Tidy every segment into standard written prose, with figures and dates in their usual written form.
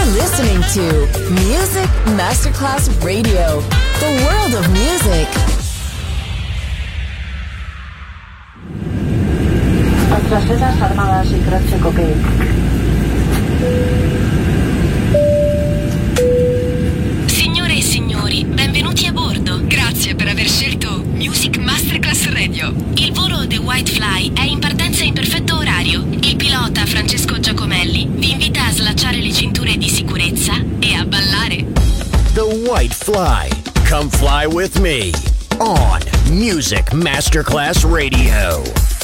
listening to Music Masterclass Radio, the world of music. Nuestras sedas armadas y crack cocaine. Signore e signori, benvenuti a bordo. Grazie per aver scelto Music Masterclass Radio. Il volo The White Fly è in partenza in perfetto orario. Il pilota Francesco Giacomelli vi invita a slacciare le cinture di sicurezza e a ballare. The White Fly. Come fly with me on Music Masterclass Radio.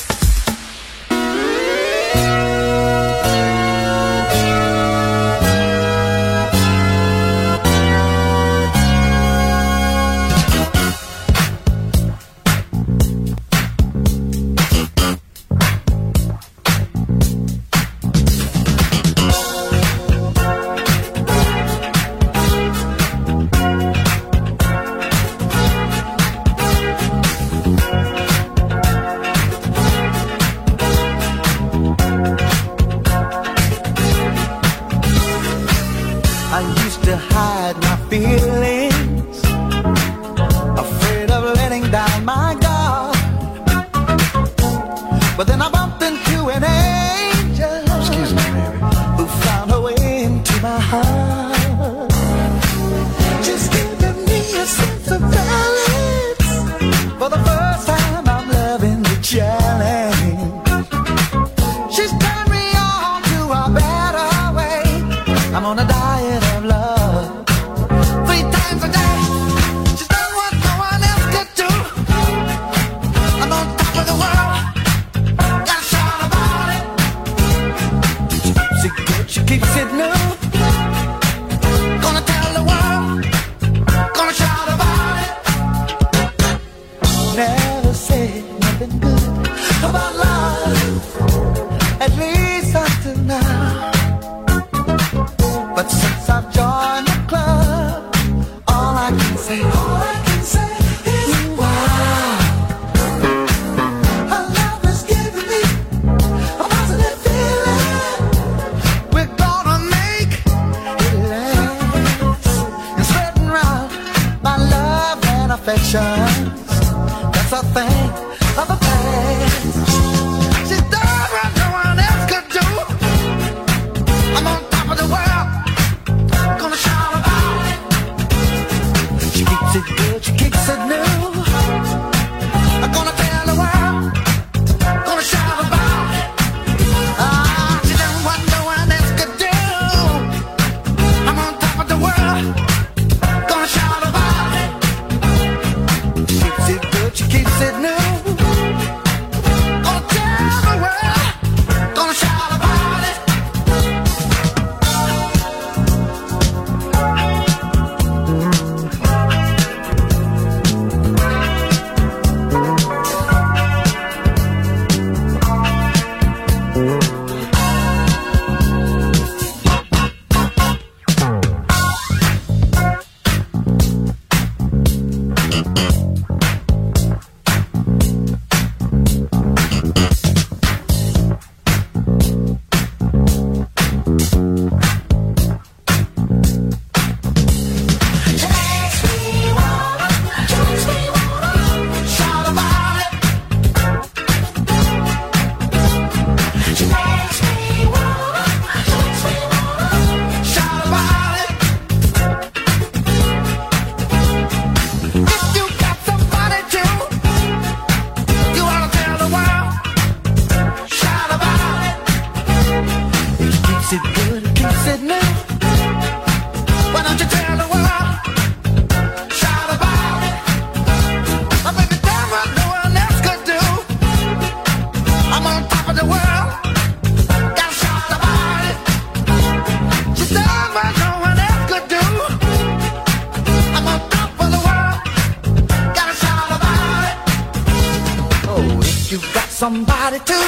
Somebody to,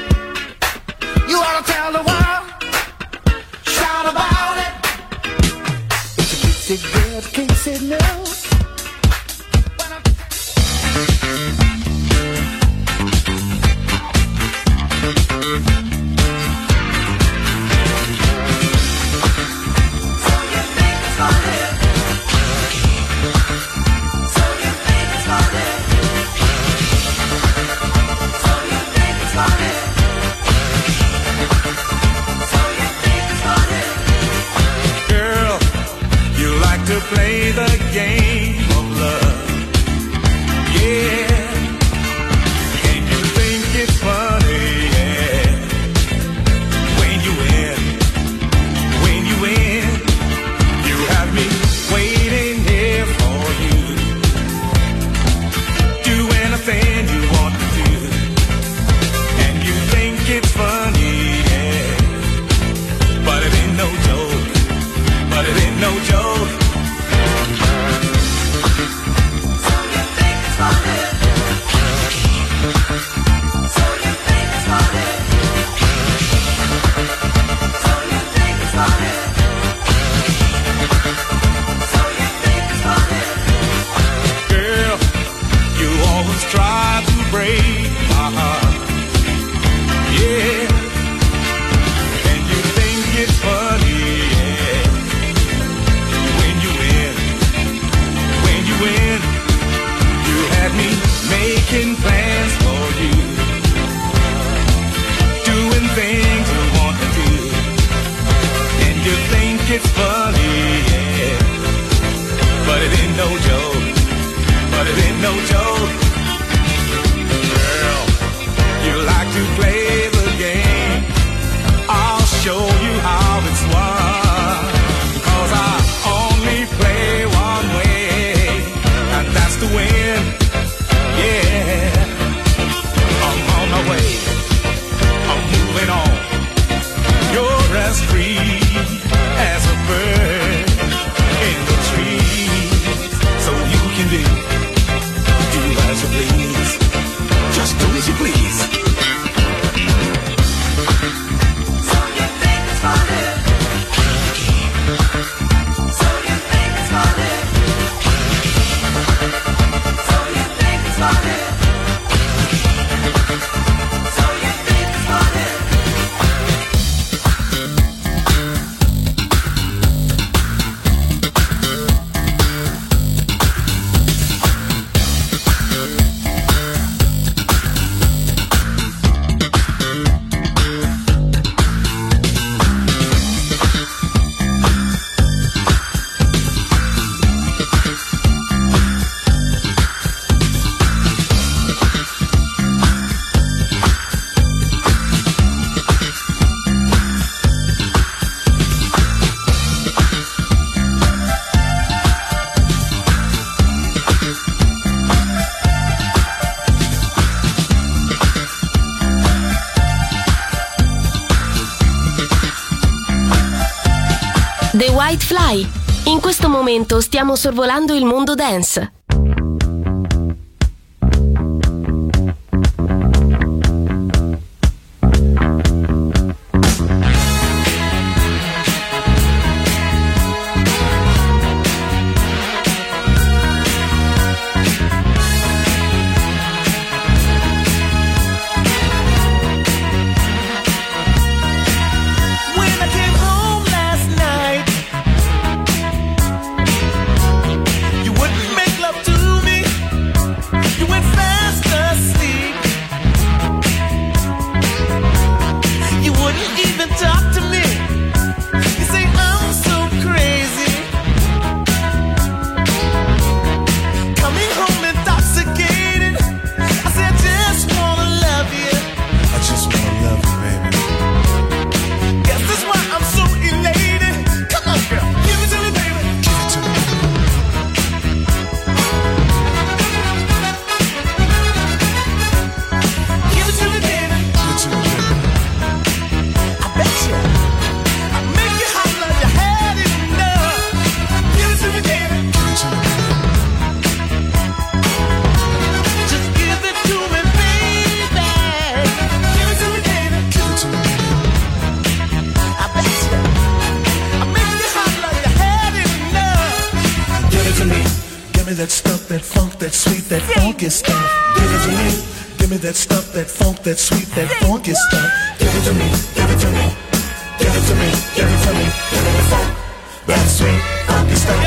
you ought to tell the world, shout about it. If you keep it good, keep it new. play the game of love. Yeah, and you think it's funny, yeah. When you win, you have me waiting here for you. Do anything you want to do, and you think it's funny, yeah. But it ain't no joke. But it ain't no joke. So you think it's funny? So you think it's funny? So you think it's funny? So you think it's funny? Girl, you always try to break my heart. Yeah. And you think it's funny. When you had me making plans for you, doing things you want to do, and you think it's funny, yeah. But it ain't no joke. But it ain't no joke. Girl, you like to play the game. I'll show you how it's won, 'cause I only play one way. That's the win, yeah. I'm on my way, I'm moving on. You're as free as a bird in the trees, so you can do as you please. Just do as you please. So you think it's funny? So you think it's funny? The White Fly. In questo momento stiamo sorvolando il mondo dance. that stuff, that funk, that sweet, that funky stuff. Give it to me. Give me that stuff, that funk, that sweet, that funky stuff. Give it to me. Give it to me. Give it to me. Give it to me. Give me the funk, that sweet, funky stuff.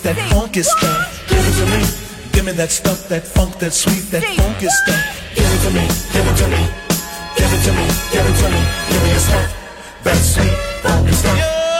that funky stuff. Give it to me. Give me that stuff, that funk, that sweet, that funky stuff. Give it to me. Give it to me. Give it to me. Give it to me. Give me your stuff, that sweet, funky stuff.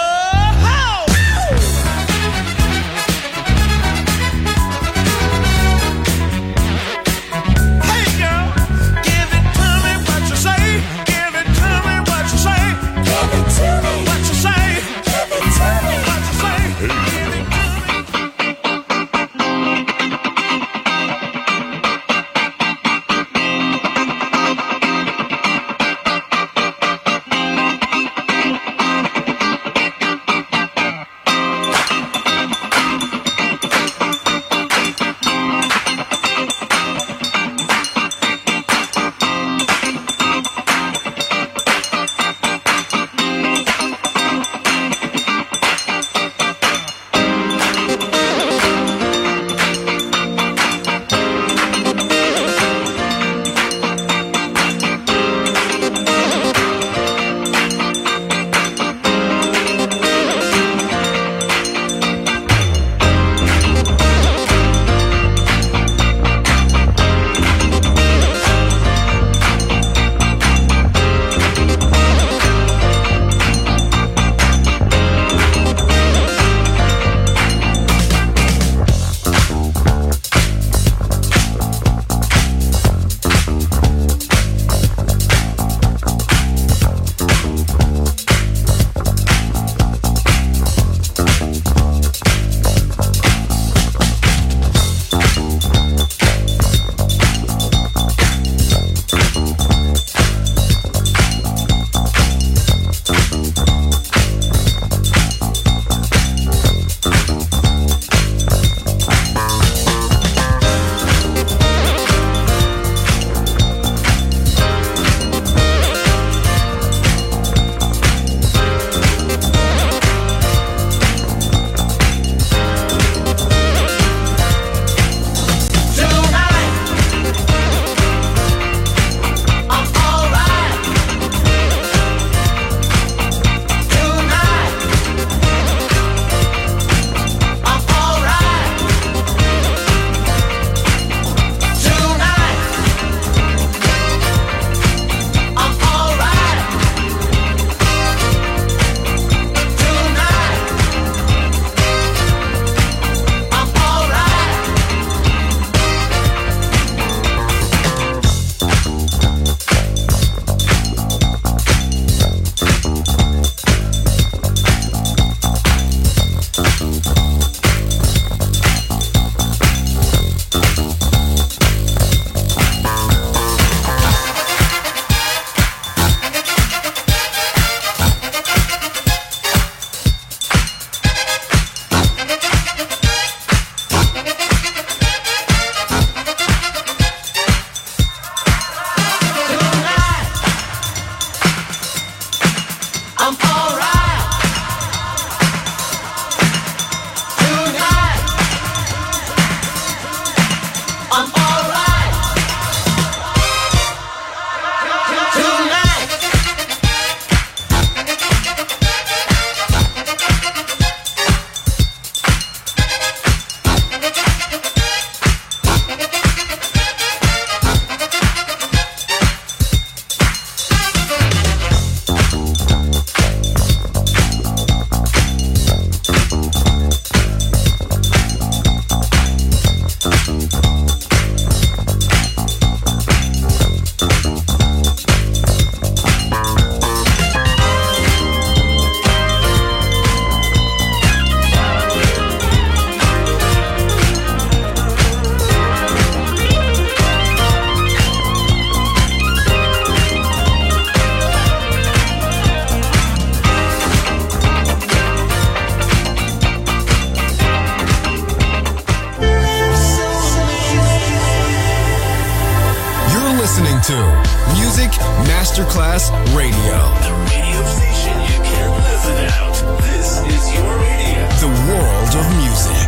to Music Masterclass Radio. The radio station you can't live without. This is your radio. The world of music.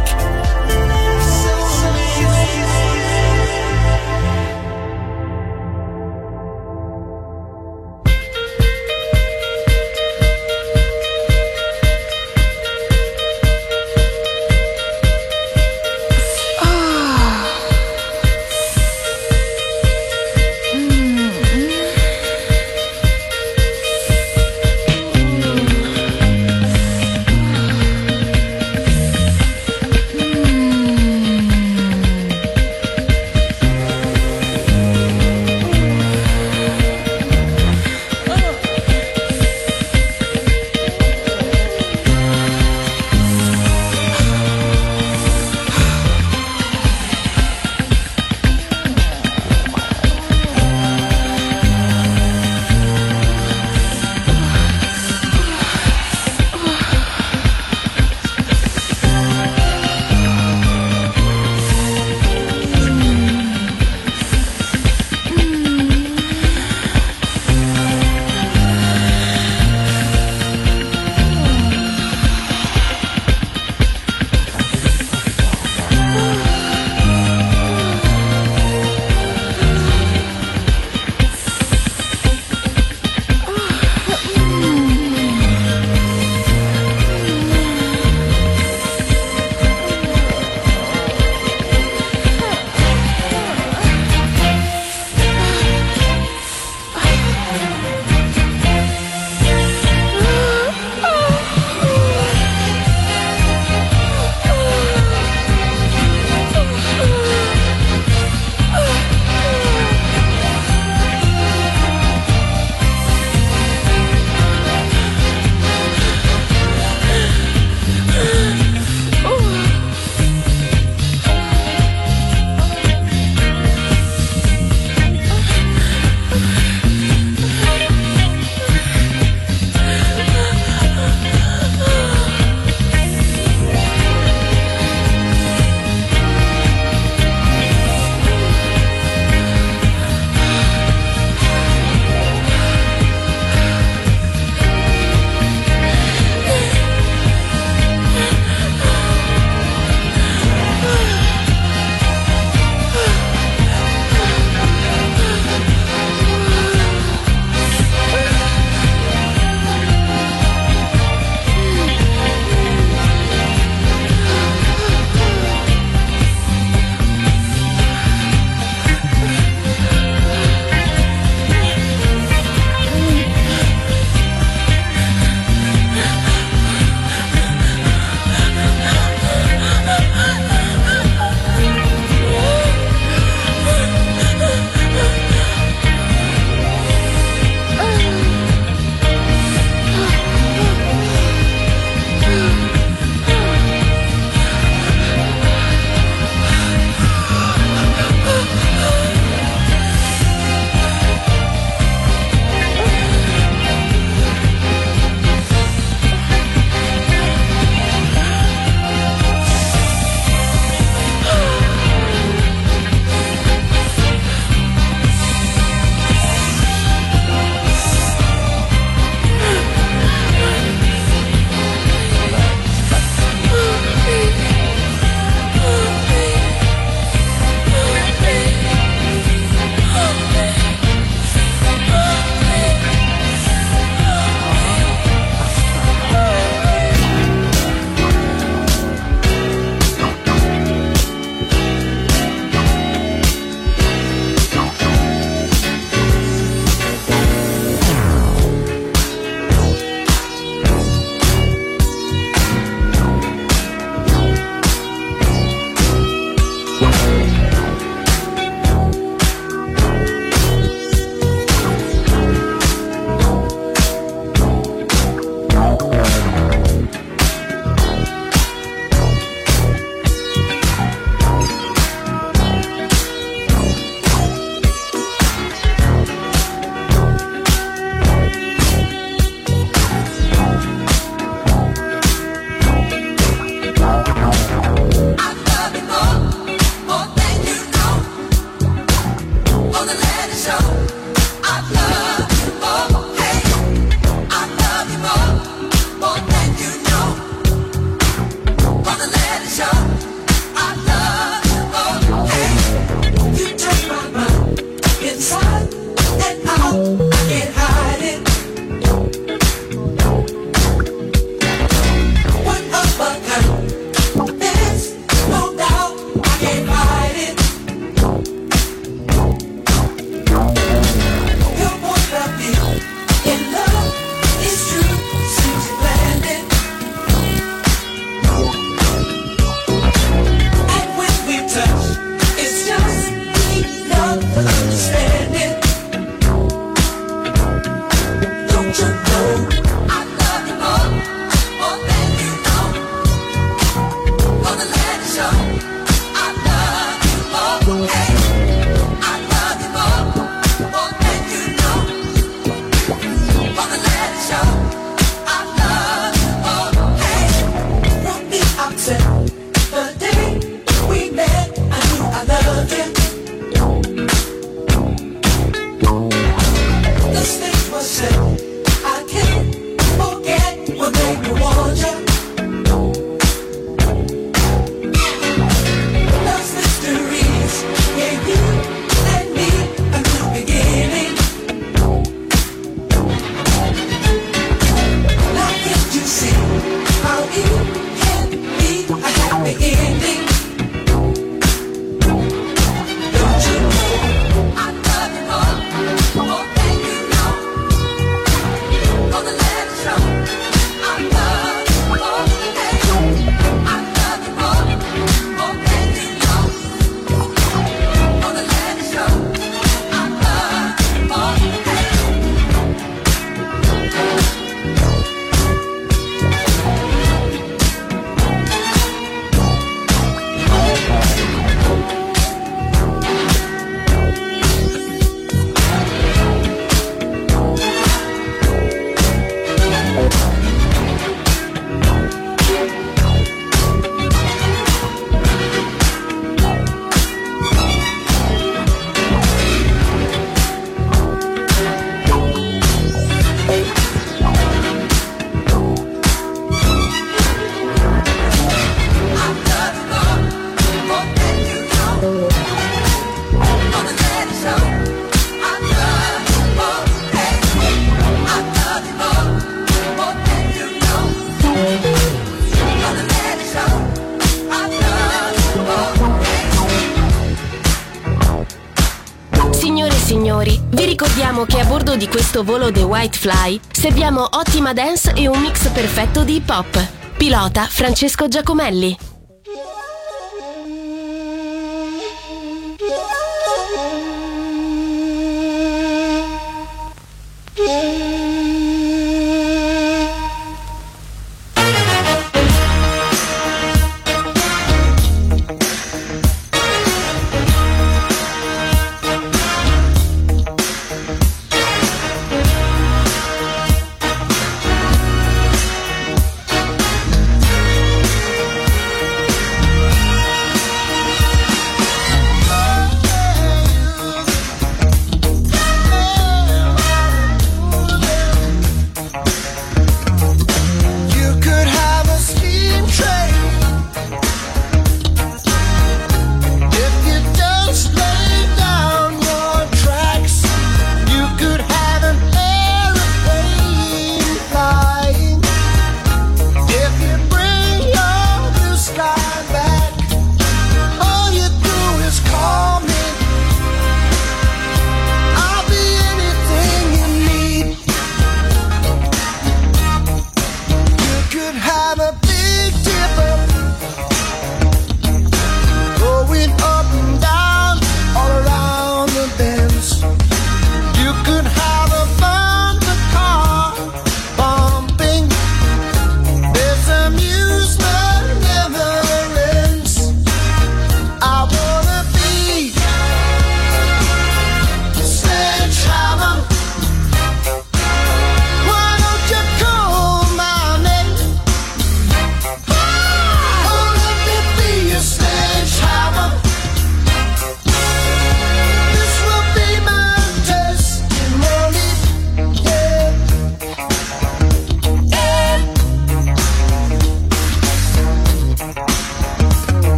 signori, vi ricordiamo che a bordo di questo volo The White Fly serviamo ottima dance e un mix perfetto di hip hop. Pilota Francesco Giacomelli.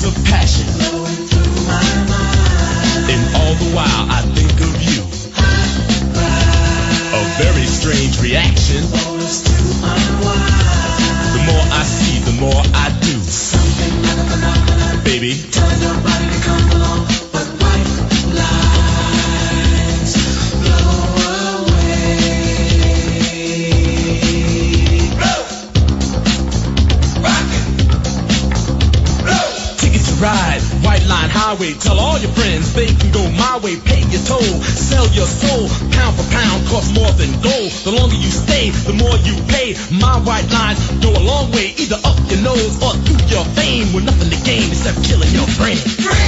of passion. And all the while I think of you. A very strange reaction. The more I see, the more I do. Baby, tell your body to come along, but white lines blow away. Blow, rockin', blow. Ticket to ride, White Line Highway. Tell all your friends they can go my way. Pay your toll, sell your soul. Pound for pound, costs more than gold. The longer you stay, the more you pay. My white lines go a long way, either up your nose or through your vein. With nothing to gain except killing your brain.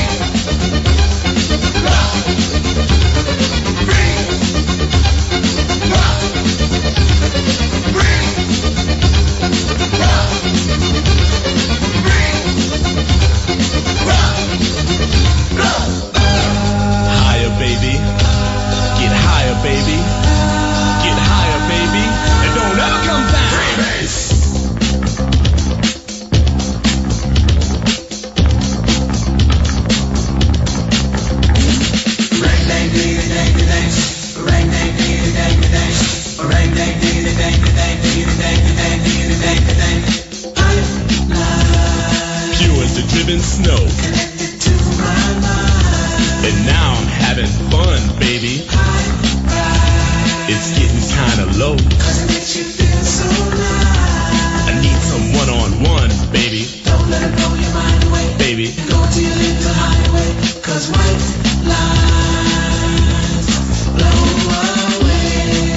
Higher, baby. Get higher, baby. Get higher, baby. And don't ever come down. Pure as the driven snow. And now I'm having fun, baby. It's getting kinda low. I need some one-on-one, baby. Don't let it blow your mind away, baby. Go to your little highway, 'cause white lines blow away.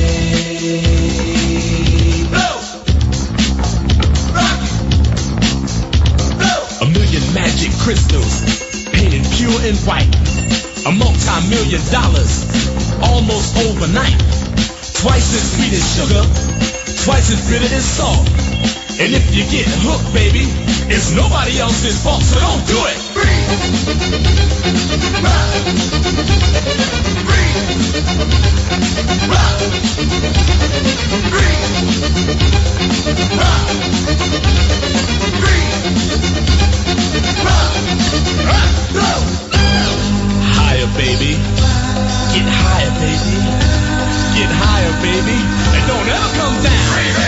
Blow, rock, blow. A million magic crystals painted pure and white. A multi-million dollars almost overnight. Twice as sweet as sugar, twice as bitter as salt. And if you get hooked, baby, it's nobody else's fault, so don't do it. Breathe. Rock. Breathe. Rock. Breathe. Rock. Breathe. Rock. Rock. Go. Higher, baby. Get higher, baby. Get higher, baby. And don't ever come down.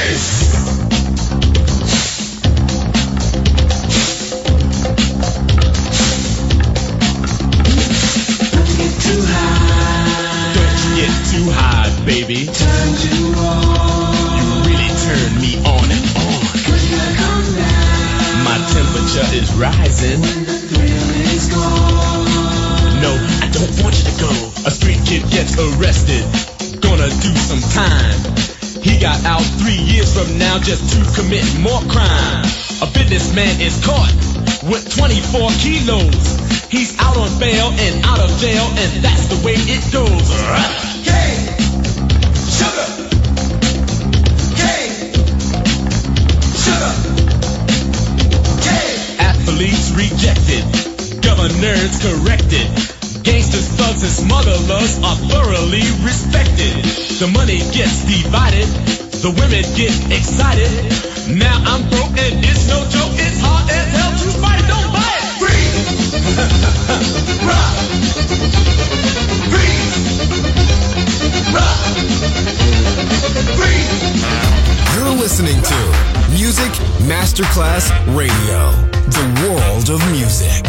Don't get too high. Don't get too high, baby. Turn you on. You really turn me on and on. 'Cause you gotta come down. My temperature is rising. When the thrill is gone. No, I don't want you to go. A street kid gets arrested, gonna do some time. He got out 3 years from now just to commit more crime. A businessman is caught with 24 kilos. He's out on bail and out of jail, and that's the way it goes. Cane, sugar, cane, sugar, cane. Athletes rejected, governors corrected. Gangsters, thugs, and smugglers are thoroughly respected. The money gets divided, the women get excited. Now I'm broke and it's no joke, it's hard as hell to fight, don't buy it! Breathe! Rock! Breathe! Rock! Breathe! You're listening to Music Masterclass Radio, the world of music.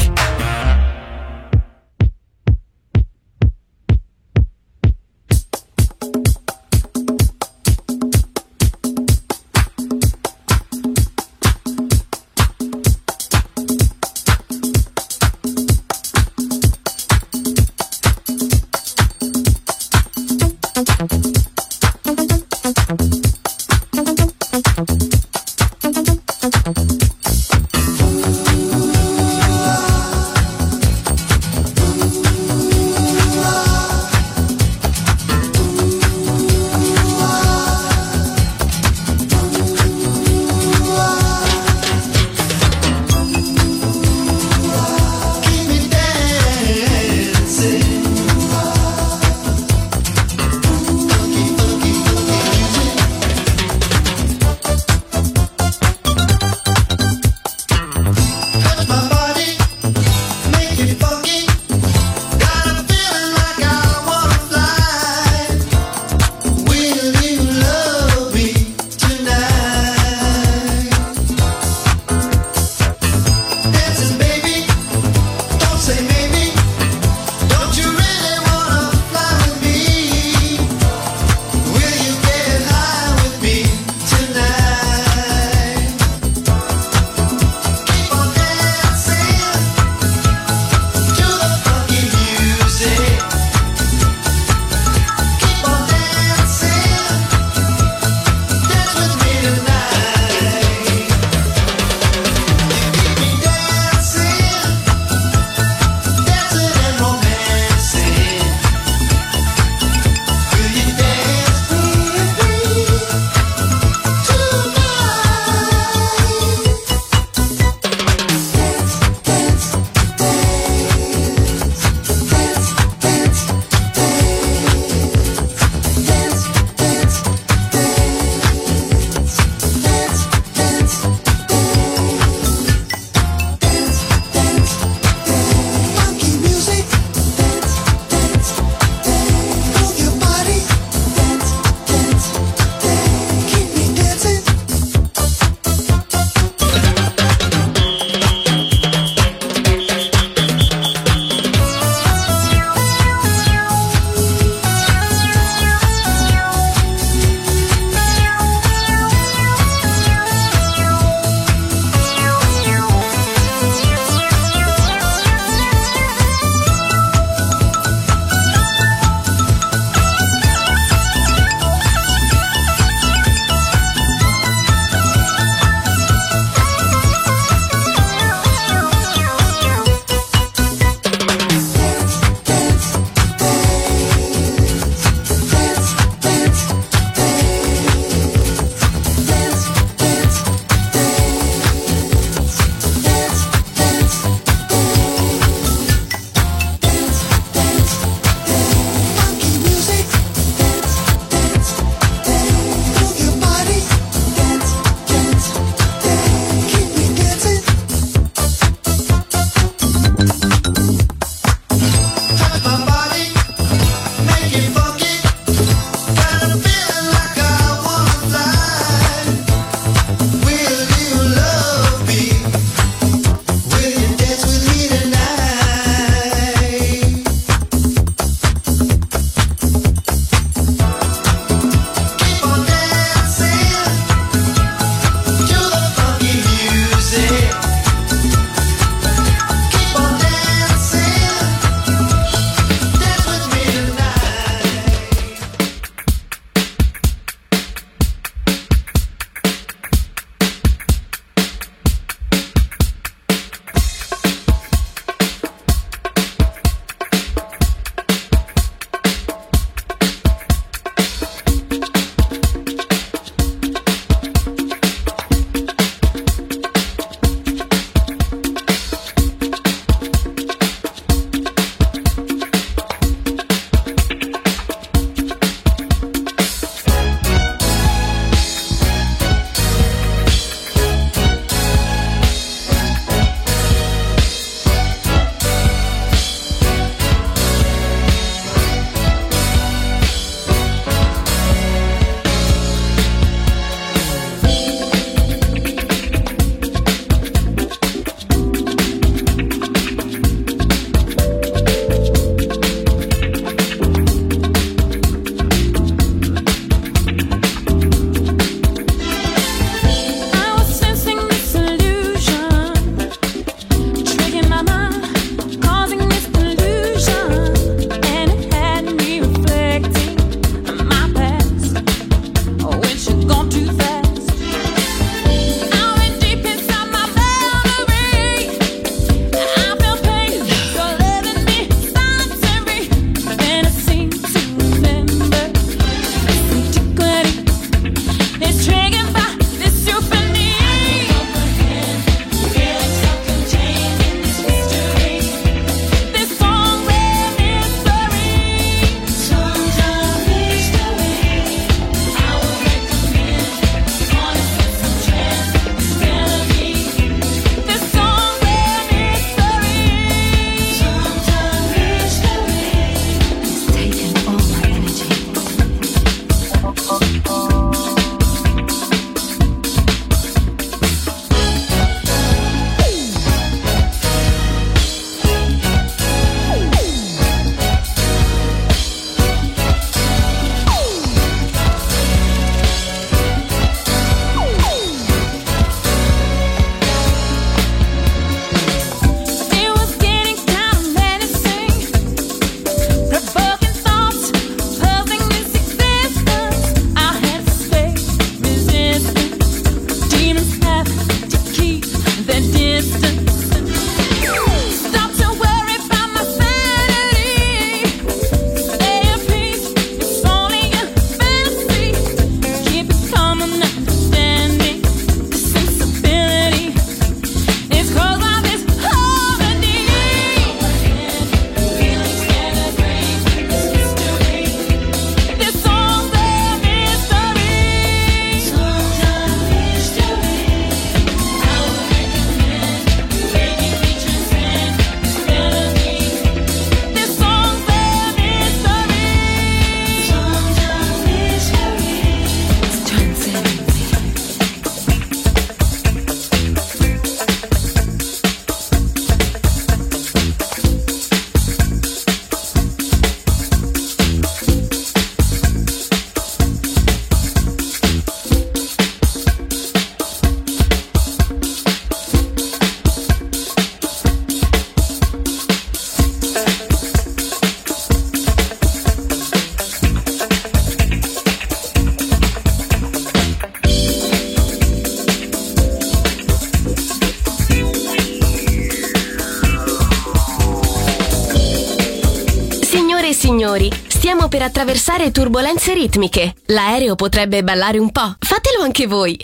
signori, stiamo per attraversare turbolenze ritmiche. L'aereo potrebbe ballare un po'. Fatelo anche voi.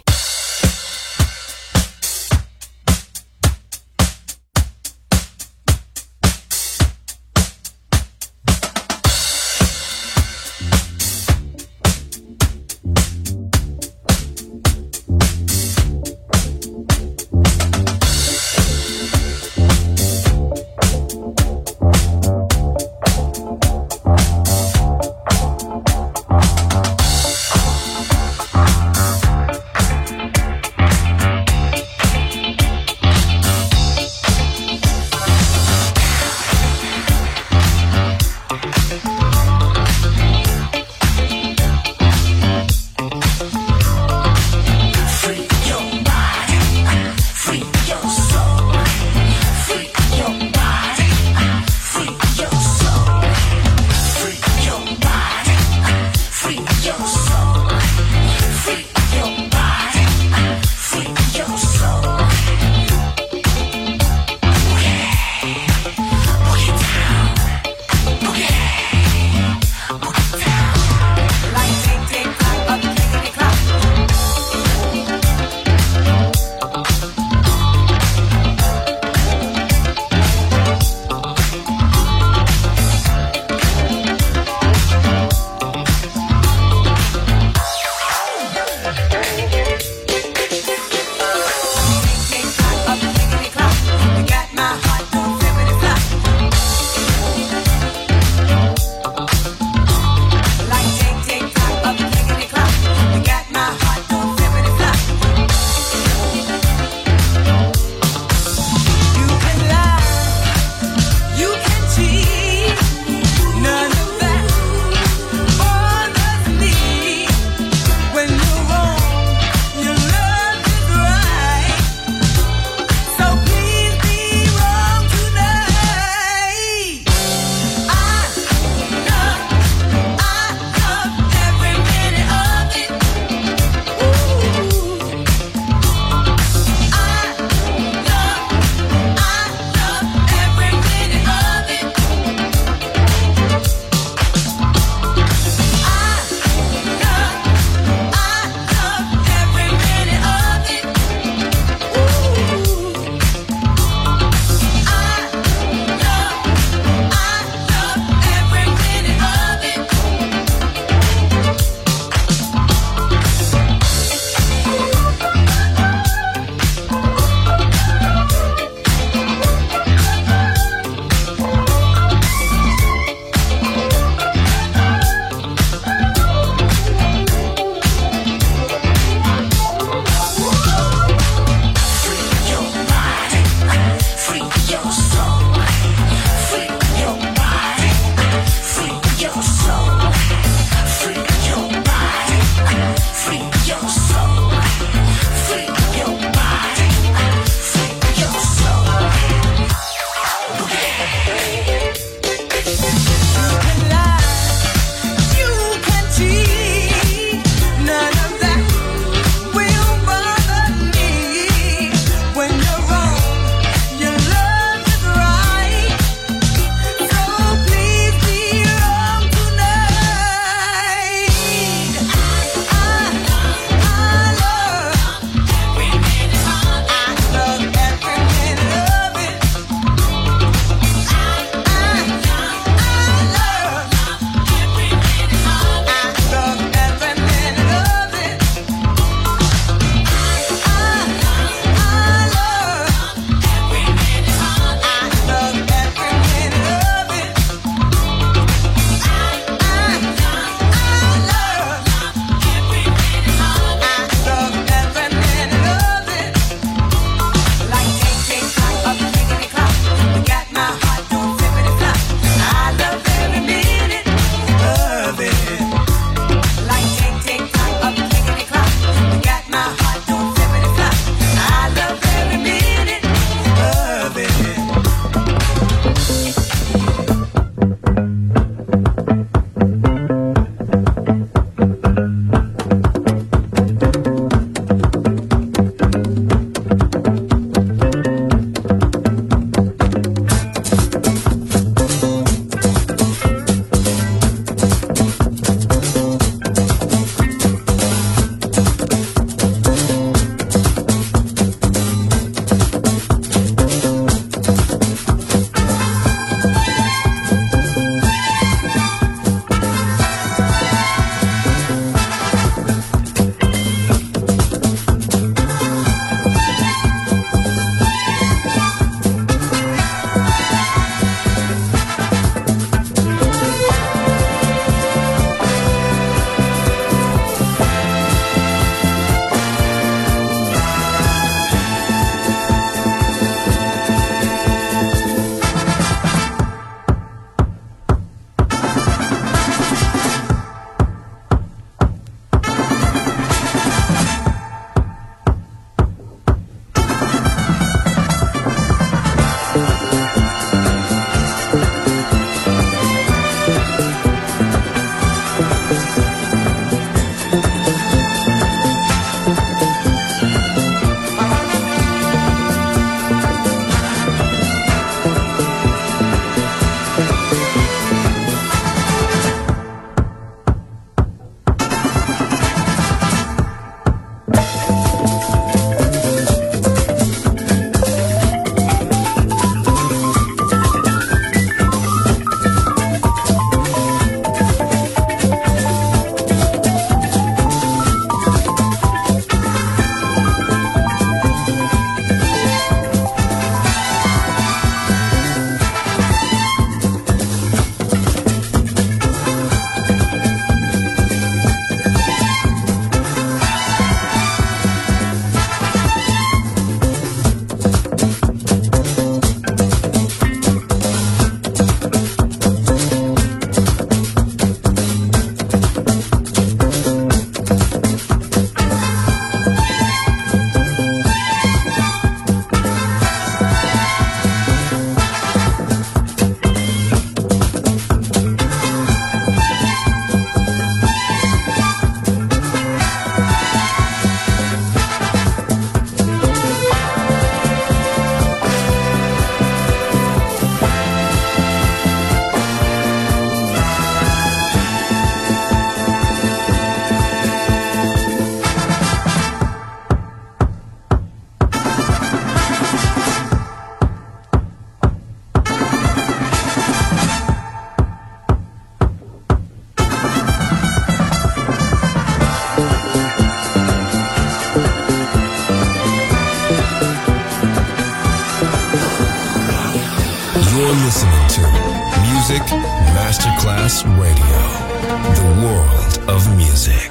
You're listening to Music Masterclass Radio, the world of music.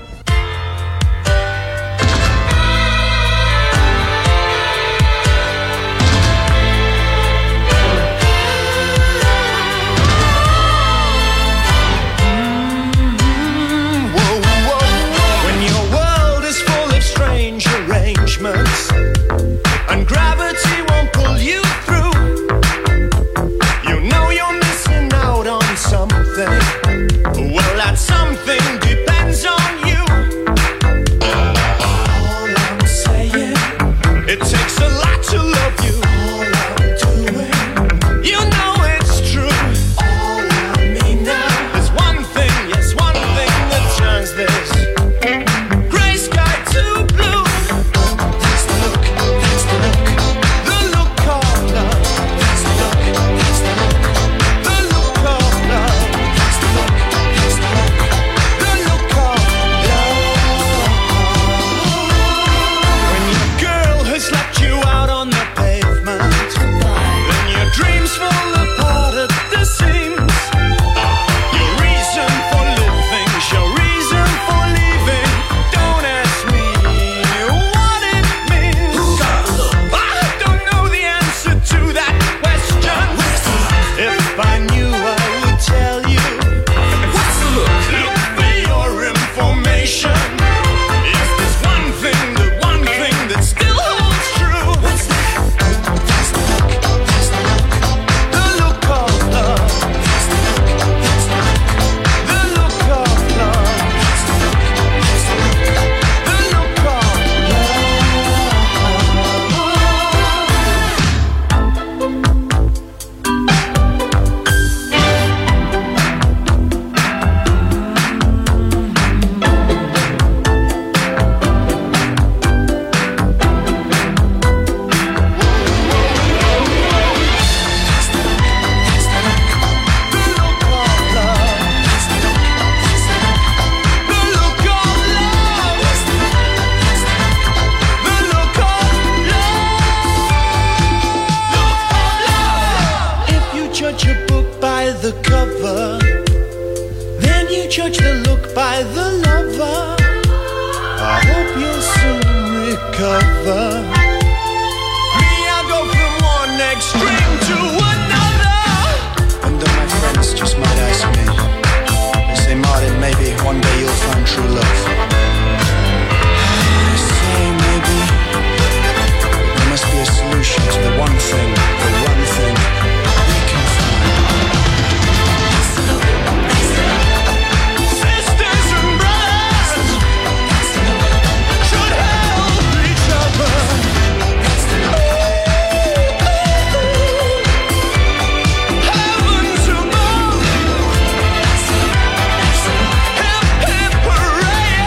And gravity won't pull you through. You know you're missing out on something. Well, that something depends on you. All I'm saying, it takes a lot to love you. All I'm doing, you know it's true. All I mean now is one thing, yes, one thing that turns this gray sky to blue. Hip, hip, hooray!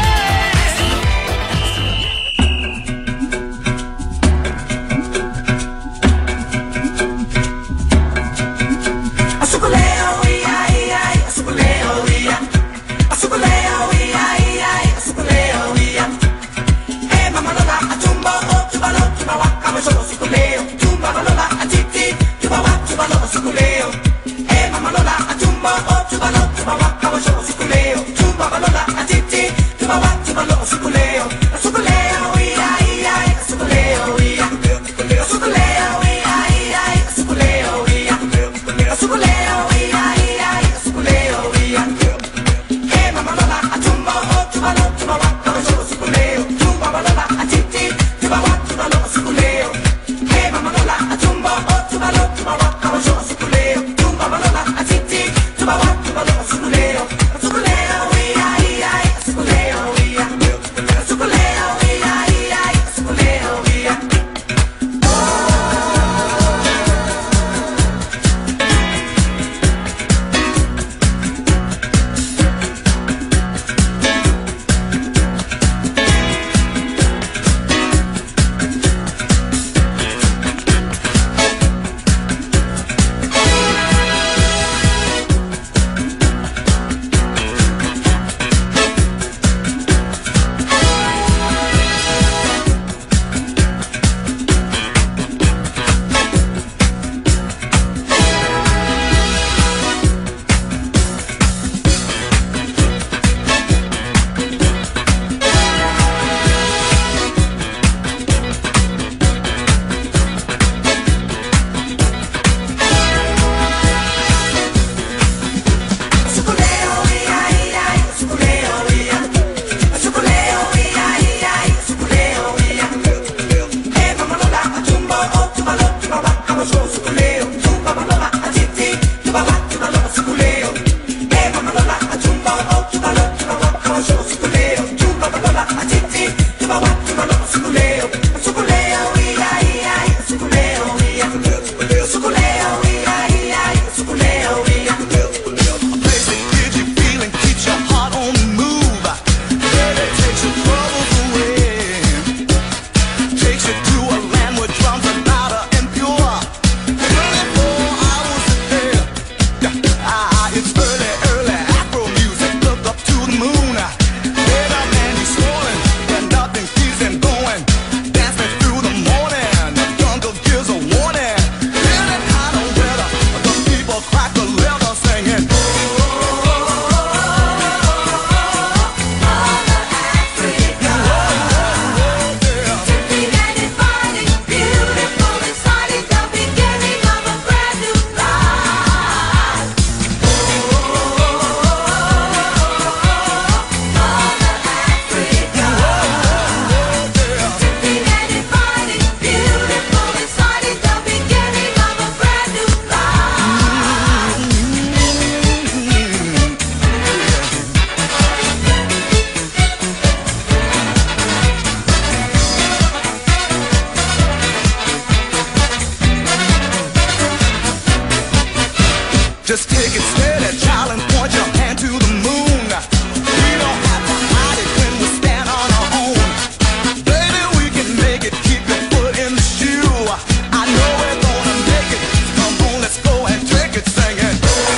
Just take it steady, child, and point your hand to the moon. We don't have to hide it when we stand on our own. Baby, we can make it, keep your foot in the shoe. I know we're gonna make it. Come on, let's go and take it, singing.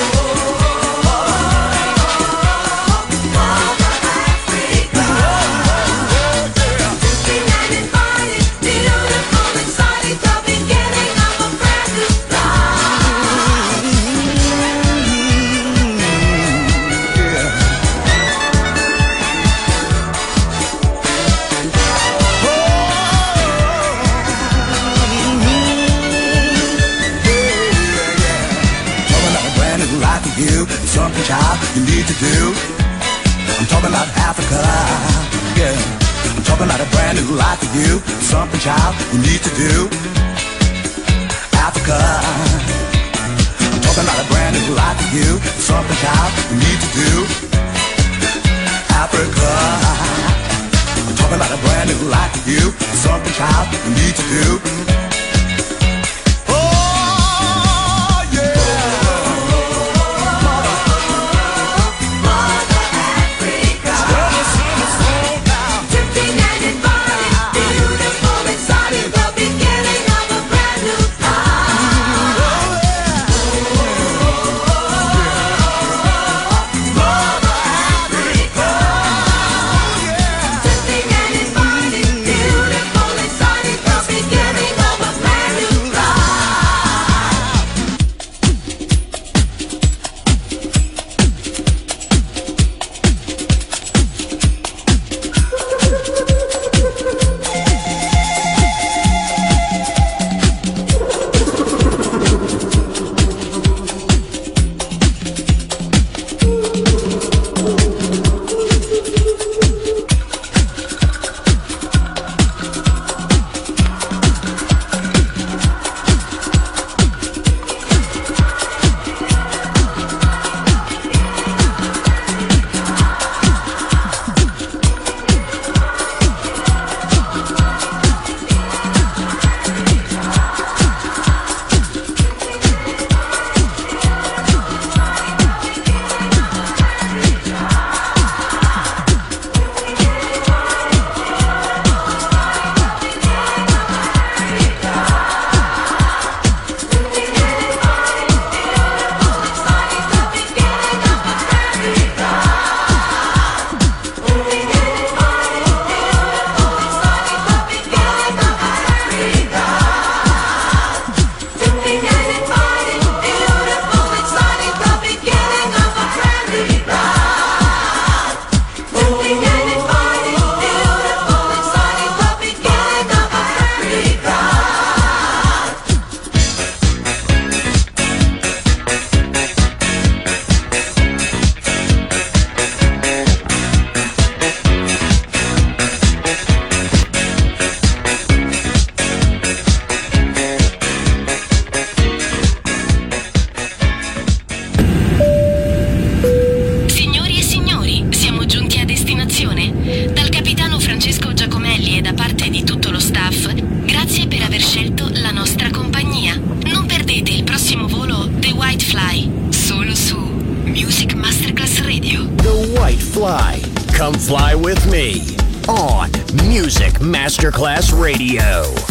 Something, child, you need to do. I'm talking about Africa, yeah. I'm talking about a brand new life for you. Something, child, you need to do. Africa. I'm talking about a brand new life for you. Something, child, you need to do. Africa. I'm talking about a brand new life for you. Something, child, you need to do. fly. Come fly with me on Music Masterclass Radio.